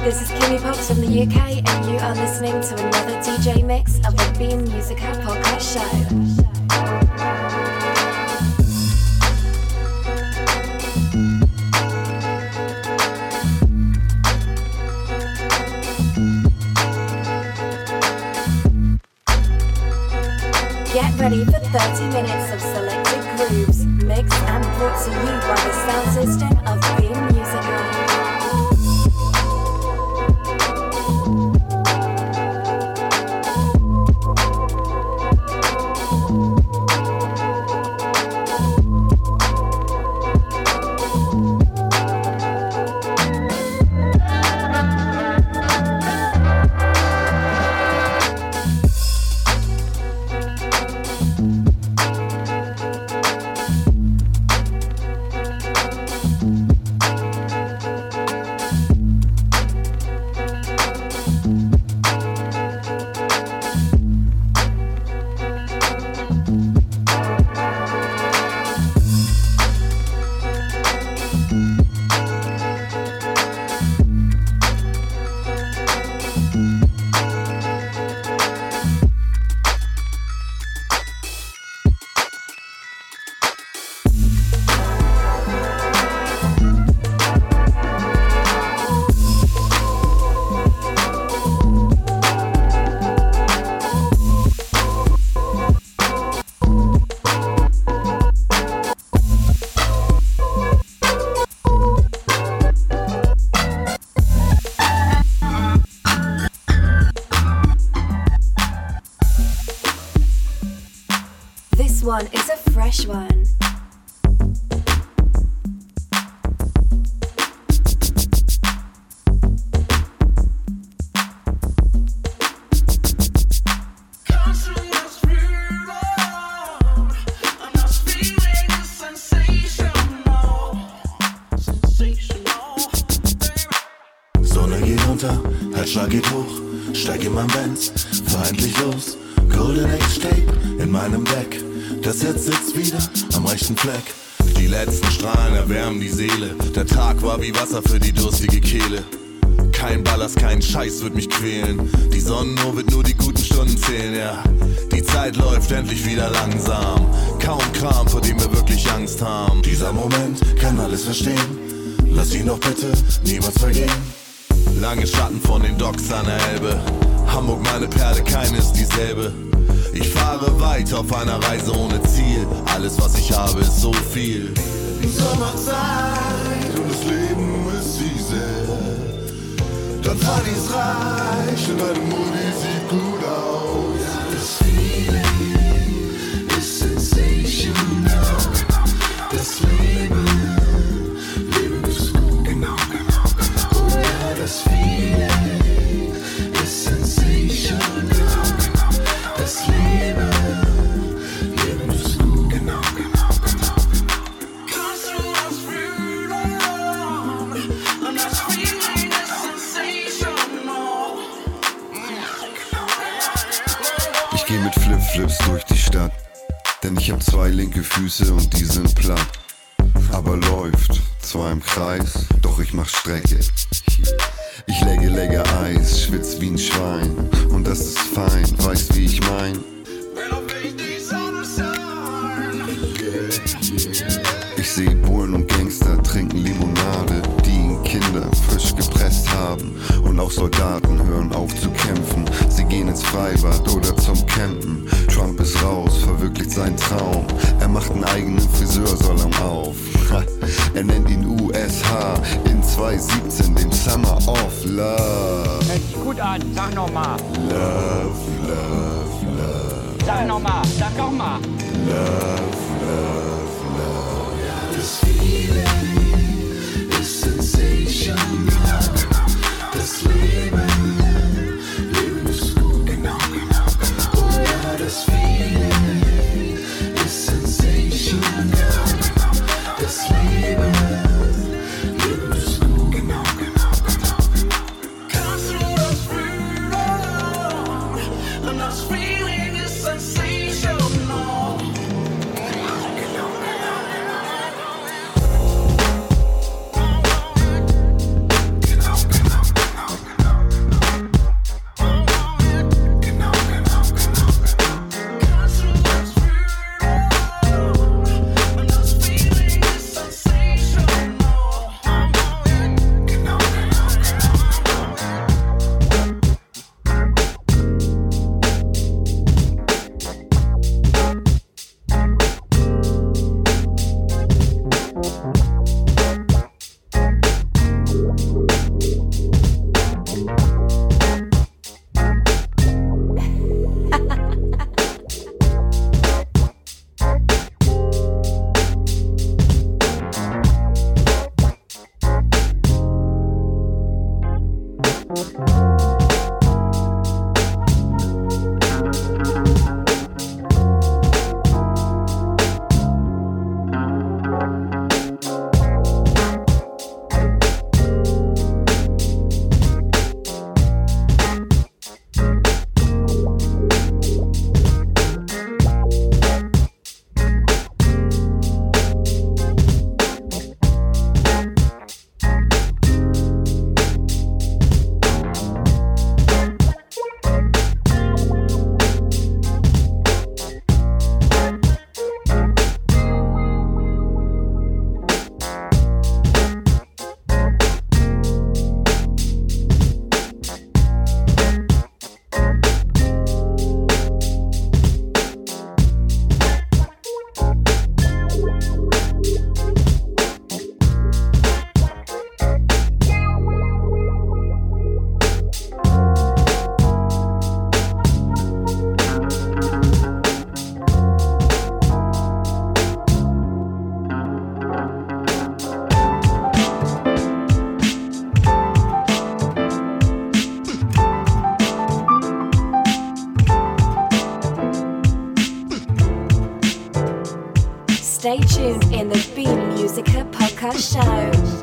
This is Kimmy Pops from the UK, and you are listening to another DJ mix of the Beam Musica podcast show. Get ready for 30 minutes of selected grooves, mixed and brought to you by the sound system of Beam Musica. One is a fresh one. Sonne geht unter, Herzschlag geht hoch, steig in mein Benz, fahr endlich los. Golden Age Tape in meinem Deck. Das Herz sitzt wieder am rechten Fleck. Die letzten Strahlen erwärmen die Seele. Der Tag war wie Wasser für die durstige Kehle. Kein Ballast, kein Scheiß wird mich quälen. Die Sonnenuhr wird nur die guten Stunden zählen, ja. Die Zeit läuft endlich wieder langsam. Kaum Kram, vor dem wir wirklich Angst haben. Dieser Moment kann alles verstehen. Lass ihn doch bitte niemals vergehen. Lange Schatten von den Docks an der Elbe. Hamburg, meine Perle, keine ist dieselbe. Ich fahre weiter auf einer Reise ohne Ziel. Alles, was ich habe, ist so viel. Sommerzeit und das Leben ist easy. Dann Partys reich und deine Mutti sieht gut aus. Das Feeling ist sensational. Das Leben ist gut. Genau. Oh ja, das Feeling ist sensational. Das Leben ist gut. Genau. Ich geh mit Flipflips durch die Stadt, denn ich hab 2 linke Füße und die sind platt. Aber läuft, zwar im Kreis, doch ich mach Strecke. Ich legge Eis, schwitz wie ein Schwein. Und das ist fein, weißt wie ich mein? Ich seh Bullen und Gangster trinken Limonade, die ihnen Kinder frisch gepresst haben. Und auch Soldaten hören auf zu kämpfen. Sie gehen ins Freibad oder zum Campen. Trump ist raus, verwirklicht seinen Traum. Er macht einen eigenen Friseursalon auf. Er nennt ihn USH in 2017, dem Summer of Love. Hört sich gut an, sag nochmal. Love, love, love. Sag nochmal, sag nochmal. Love, love, love. Das Feeling ist sensational. Das Leben ist gut. Genau. Oh ja, das Feeling ist sensational. Das Leben ist gut. Genau. And das Feeling ist sensational. Stay tuned in the Beam Musica podcast show.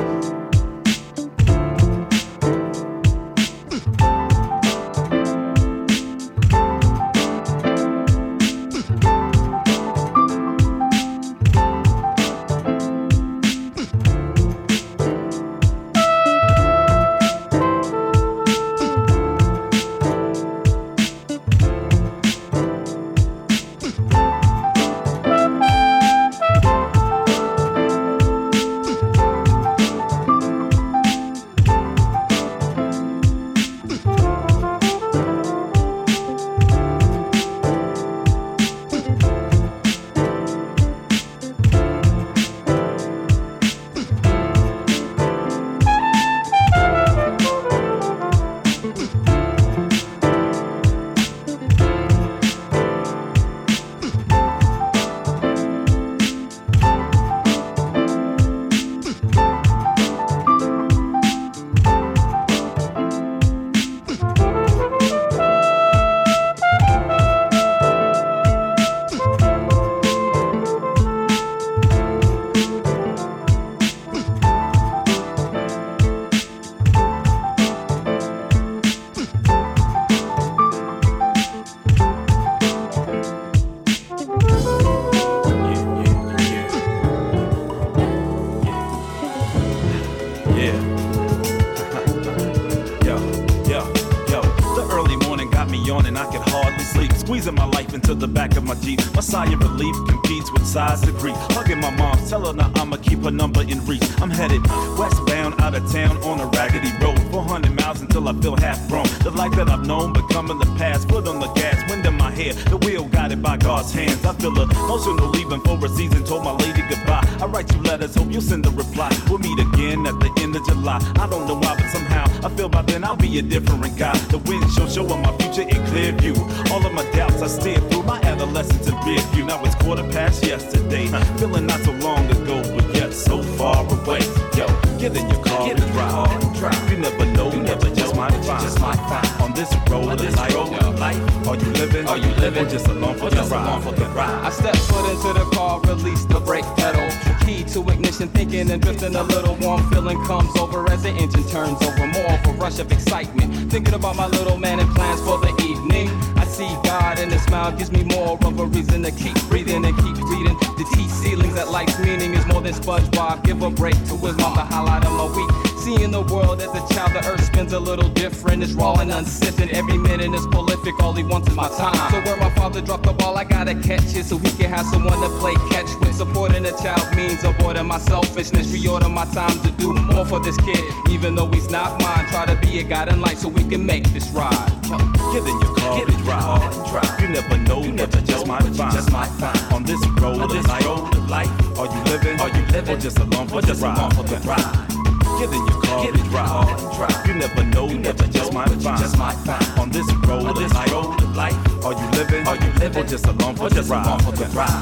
Squeezing my life into the back of my Jeep. My sigh of relief competes with sighs of grief. Hugging my mom, tell her now I'ma keep her number in reach. I'm headed westbound, out of town on a raggedy road. 400 miles until I feel half grown. The life that I've known becoming the past. Foot on the gas, wind in my hair. The wheel guided by God's hands. I feel emotional leaving for a season. Told my lady goodbye. I write you letters, hope you'll send a reply. We'll meet again at the end of July. I don't know why, but somehow I feel by then I'll be a different guy. The windshield showing my future in clear view. All of my doubts I steered through my adolescence in rear view. Now it's 1:15 yesterday. Feeling not so long ago, but yet so far away. Yo, get in your car and drive. You never know, you never just might find. On this road of life, are you living? Or just along for the ride? I step foot into the car, release the brake pedal. Key to ignition, thinking and drifting a little warm feeling comes over as the engine turns over. More of a rush of excitement, thinking about my little man and plans for the evening. I see God and his smile gives me more of a reason to keep breathing and keep reading. The T ceilings that life's meaning is more than SpongeBob. Give a break to his mom, the highlight of my week. Seeing the world as a child, the earth spins a little different. It's raw and unsifted, every minute is prolific. All he wants is my time. So where my father dropped the ball, I gotta catch it so he can have someone to play catch with. Supporting a child means avoiding my selfishness. Reorder my time to do more for this kid, even though he's not mine. Try to be a guiding light so we can make this ride. Get in your car and drive. You never know, you never just might find. On this road of life, are you living? Or just along for the ride? Get in your car and drive. You never know, you never just might find. On this road of life, are you living? Or just along for the ride?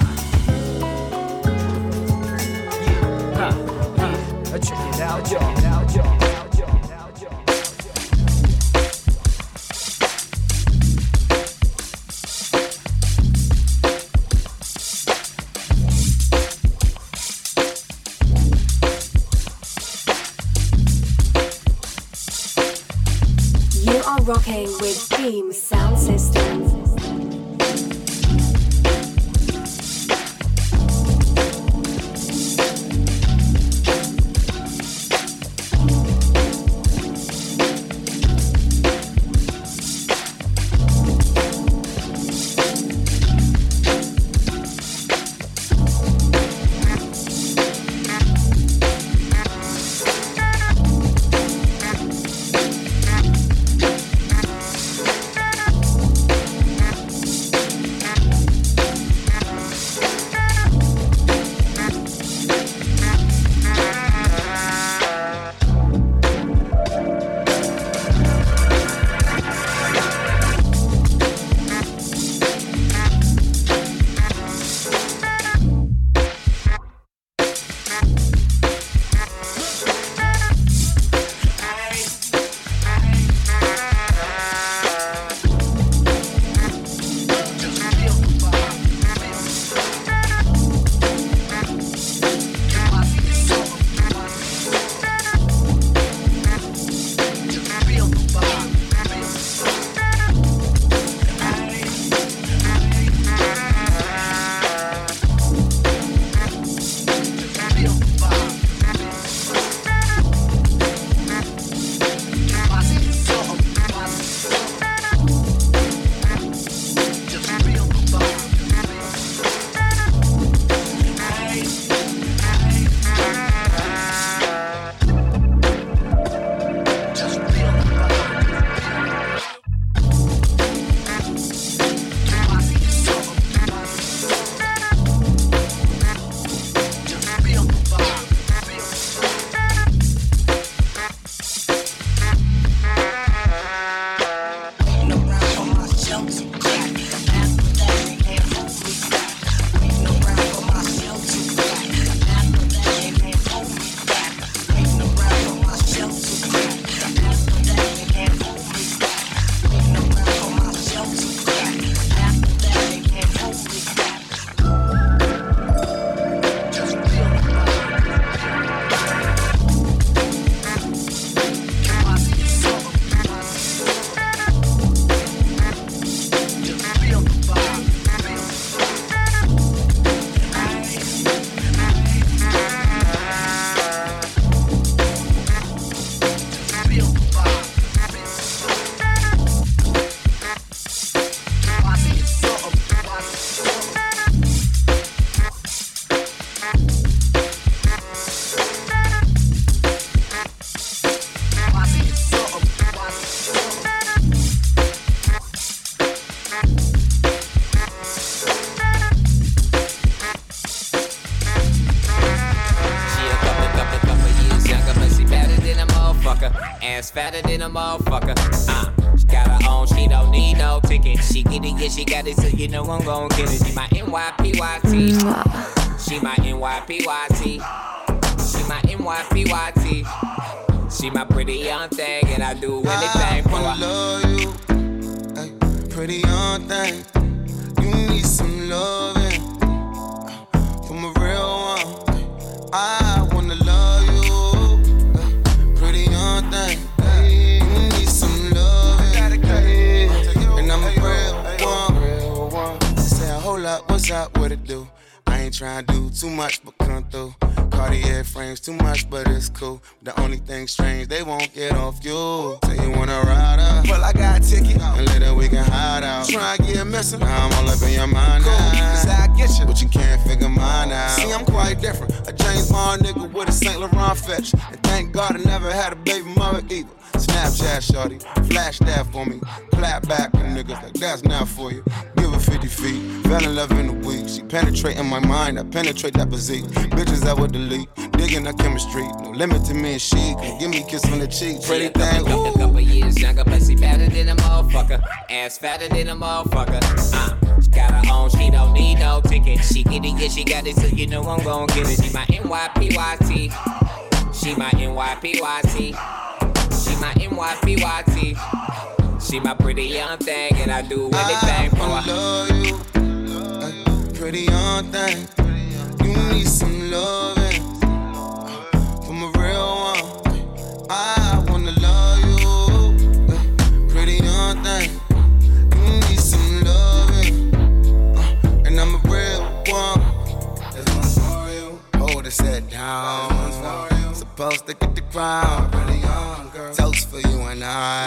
Check it out, y'all. are rocking with Beam Sound System. Ass fatter than a motherfucker. She got her own, she don't need no ticket. She get it, yeah, she got it, so you know I'm gon' get it. She my NYPYT. She my NYPYT. She my NYPYT. She my pretty young thing, and I do anything for her. I love you, ay, pretty young thing. You need some loving from a real one. I wanna love you, ay, pretty young thing. Ay, you need some loving, ay, and I'm a real one. Say a whole lot, what's up, what it do? I ain't tryna do too much, but come through. Cartier frames too much, but it's cool. The only thing strange, they won't get off you. Say you wanna ride up, well I got a ticket, and later we can hide out. Try and get missing, now I'm all up in your mind now. Cause I get you, but you can't figure mine out. See, I'm quite different, a James Bond nigga with a Saint Laurent fetch. And thank God I never had a baby mother either. Snapchat shorty, flash that for me. Clap back with niggas like that's not for you. Give her 50 feet, fell in love in a week. She penetrating my mind, I penetrate that physique. Bitches I would delete, digging her chemistry. No limit to me and she, can give me a kiss on the cheek. Pretty thing, a couple years younger, but she better than a motherfucker. Ass fatter than a motherfucker. She got her own, she don't need no ticket. She get it, yeah, she got it, so you know I'm gon' get it. She my NYPYT. She my NYPYT. She my NYPYT. She my pretty young thing, and I do anything for her. I love you, pretty young thing. You need some loving from a real one. I wanna love you, pretty and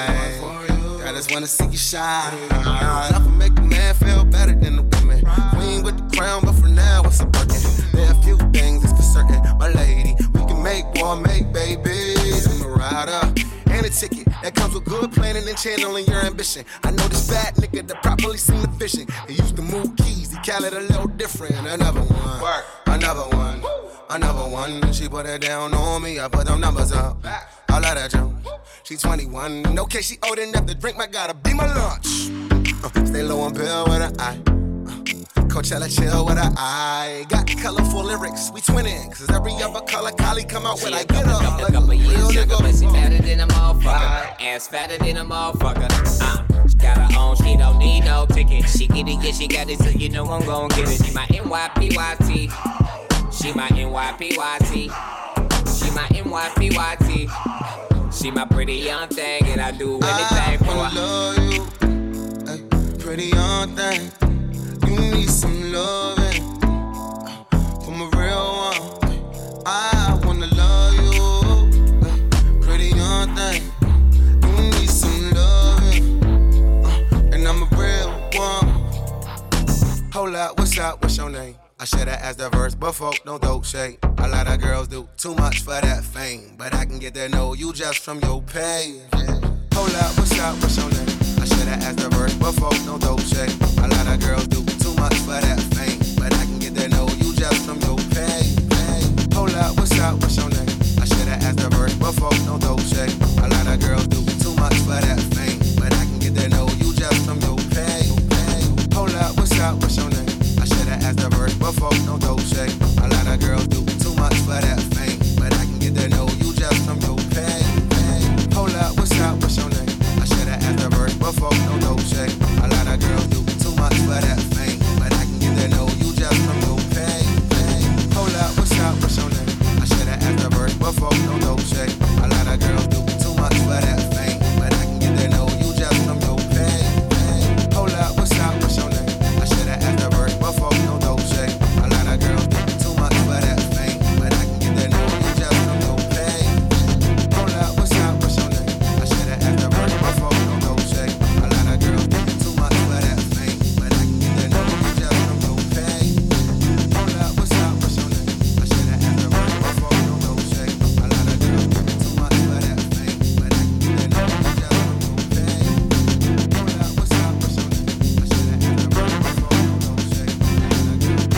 I just wanna see you shine. Nothing make a man feel better than a woman. Queen with the crown, but for now it's a burden. There are a few things that's for certain, my lady. We can make war, make babies. I'm a rider and a ticket that comes with good planning and channeling your ambition. I know this bad nigga that properly seen the vision. He used to move keys, he call it a little different. Another one, another one, another one. She put it down on me, I put them numbers up. All of that junk. She's 21, okay, she old enough to drink, but gotta be my lunch. Stay low on pill with an eye. Coachella chill with an eye. Got colorful lyrics, we twinning. Cause every other color collie come out when I get up. A couple years younger, but she fatter than a motherfucker. Ass fatter than a motherfucker. She got her own, she don't need no ticket. She get it, yeah, she got it, so you know I'm gon' get it. She my NYPYT. She my NYPYT. She my NYPYT. She my pretty young thing, and I do anything for her. I love you, ay, pretty young thing. You need some loving from a real one. I wanna love you, ay, pretty young thing. You need some loving, and I'm a real one. Hold up, what's up? What's your name? I should've asked the verse, but folk don't throw shade. A lot of girls do too much for that fame, but I can get that no, you just from your page. Hold up, what's up, what's your name? I should've asked the verse, but folk don't throw shade. A lot of girls do too much for that fame, but I can get that no, you just from your page. Hold up, what's your name? I should've asked the verse, but folk don't throw shade. A lot of girls do too much for that fame, but I can get that no, you just from your page. Hold up, what's your name? I should've asked the verse, but folk don't throw shade. A lot of girls do too much for that fame, but I can get that no, you just from your pay. Hold up, what's your name? I should've asked the verse, but folk don't throw shade. A lot of girls do too much for that fame, but I can get that no, you just from your pay. Hold up, what's your name? I should've asked the verse, but folk don't throw shade. A lot of girls do too much for that fame, but I can get that no, you just from your pay. Hold up, what's your name? I should've asked the verse, but folk don't throw shade. A lot of girls do too much for that fame, but I can get that no, you just from your pay. Hold up, what's your name? I should've asked the verse, but folk don't throw shade. A lot of girls do too much for that fame, but I can get that no, you just from your pay. Hold up, what's your name? I should've asked the verse, but folk don't throw shade. A lot of girls do too much for that fame, but I can get that no, you just from your pay. Hold up, what's your name? I should've asked the verse, but folk don't throw shade. A lot of girls do too much for that fame, but I can get that no, you just from your pay.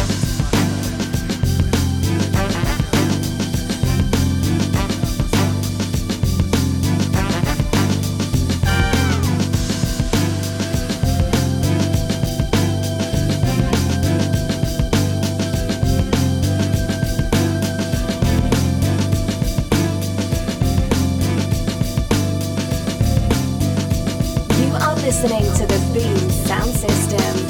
You are listening to the Beam Sound System.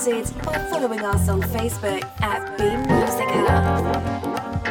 started by following us on Facebook at Beam Musica.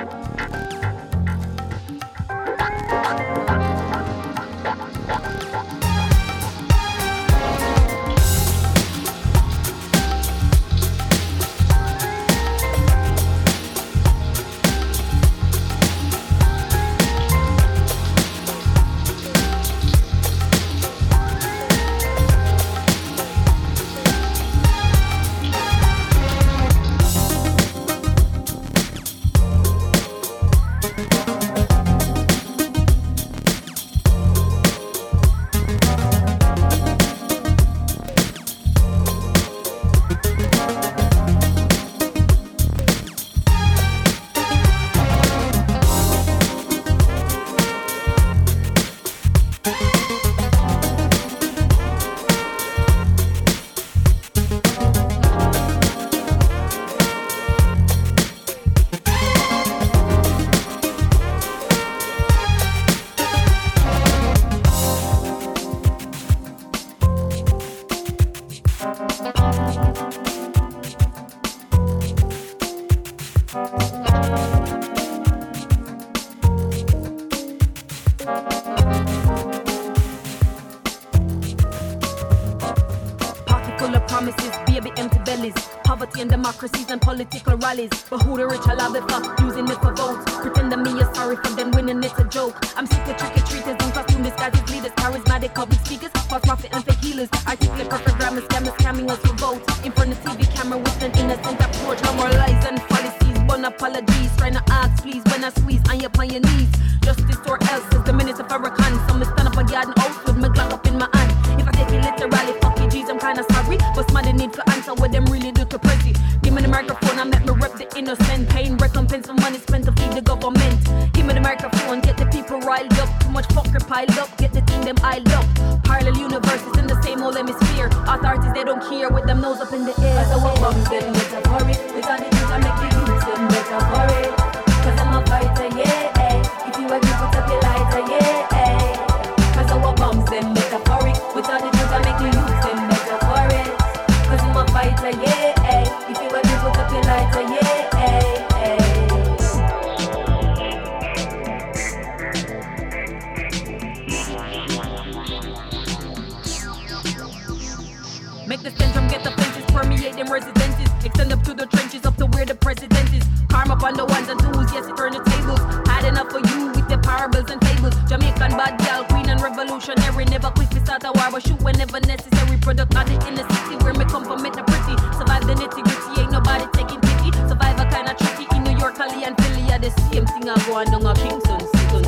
Poverty and democracies and political rallies. But who the rich are lobby for, using it for votes. Pretend that me is sorry for them winning, it's a joke. I'm sick of trick-or-treaters in costume disguises, leaders, charismatic public speakers, false prophet and fake healers. Articulate perfect grammar, scammers scamming us for votes. In front of TV camera with an innocent approach. No more lies and fallacies, one apologies. Trying to ask please when I squeeze on your knees. Justice or else is the minutes of Farrakhan. So me stand up a garden house with my Glock up in my hand. If I take it literally, fuck you G's, I'm kinda sorry. But smart need for answer what them really do to Prezi. Give me the microphone, I make me rep the innocent. Paying recompense for money spent to feed the government. Give me the microphone, get the people riled up. Too much fucker piled up, get the team them iled up. Parallel universes in the same old hemisphere. Authorities, they don't care with them nose up in the air. Cause I want bombs, them metaphoric. With all the things I make the youth, them metaphoric. Cause I'm a fighter, yeah. If you agree, put up your lighter, yeah. Cause I want bombs, them metaphoric. With all the things I make the youth, them metaphoric. Cause I'm a fighter, yeah. If you agree, put up your lighter, yeah. Make the stench from get the fences, permeate them residences. Extend up to the trenches, up to where the president is. Karma upon the ones and twos, yes, it turn the tables. Had enough for you with the parables and fables. Jamaican bad gal, queen and revolutionary. Never quick to start a war, but shoot whenever necessary. Product of the inner city, where me come from, make the pretty. Survive the nitty gritty, ain't nobody taking pity. Survive a kind of tricky in New York, Cali and Philly. Yeah, the same thing I go on down a Kingston.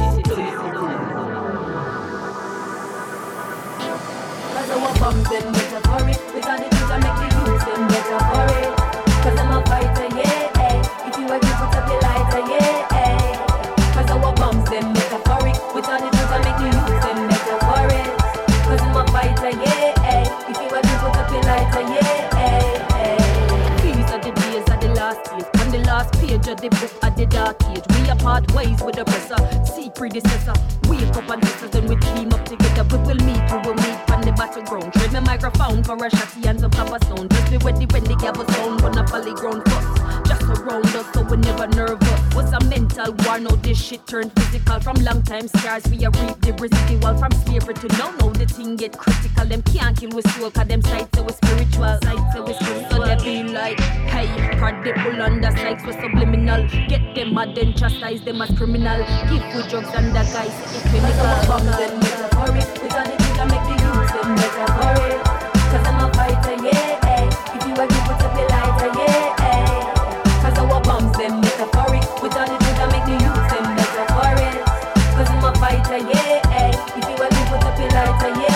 Cause I want bombs, them metaphoric. With all the things I make the youth, them metaphoric. Cause I'm a fighter, yeah. If you agree, put up your lighter, yeah. Cause I want bombs, them metaphoric. With all the things I make the youth, them metaphoric. Cause I'm a fighter, yeah. If you agree, put up your lighter, yeah. These are the days of the last years. On the last page of the book of the dark age. We are part ways with the oppressor. See predecessor. Wake up and sisters, then we team up together. We will meet on the battleground. Trade my microphone for a shotty and some copper stone. Just be ready when the gavel sound. When a polyground fuss just around us, so we never nervous. Was a mental war, now this shit turned physical. From long time scars, we are reap the residual. From slavery to now the thing get critical. Them can't kill with soul, cause them sights say we spiritual. Sights say we spiritual, so they be like, hey, credible under sights we subliminal. Get them mad and chastise them as criminal. Give with drugs and the guys, it's clinical. Bombs and metaphoric, with all the things I make the youth, them metaphoric. Cause I'm a fighter, yeah. If you agree, put up your lighter, yeah. Cause I want bombs, them metaphoric. With all the things I make the youth, them metaphoric. Cause I'm a fighter, yeah. If you agree, put up your lighter, yeah.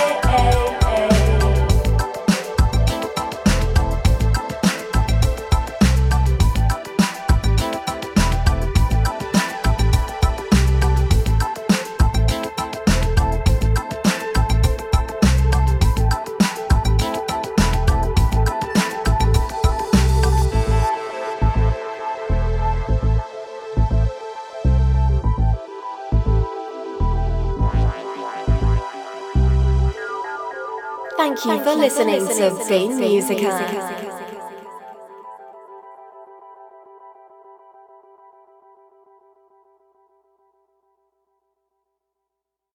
Thank you for listening to Beam Musica.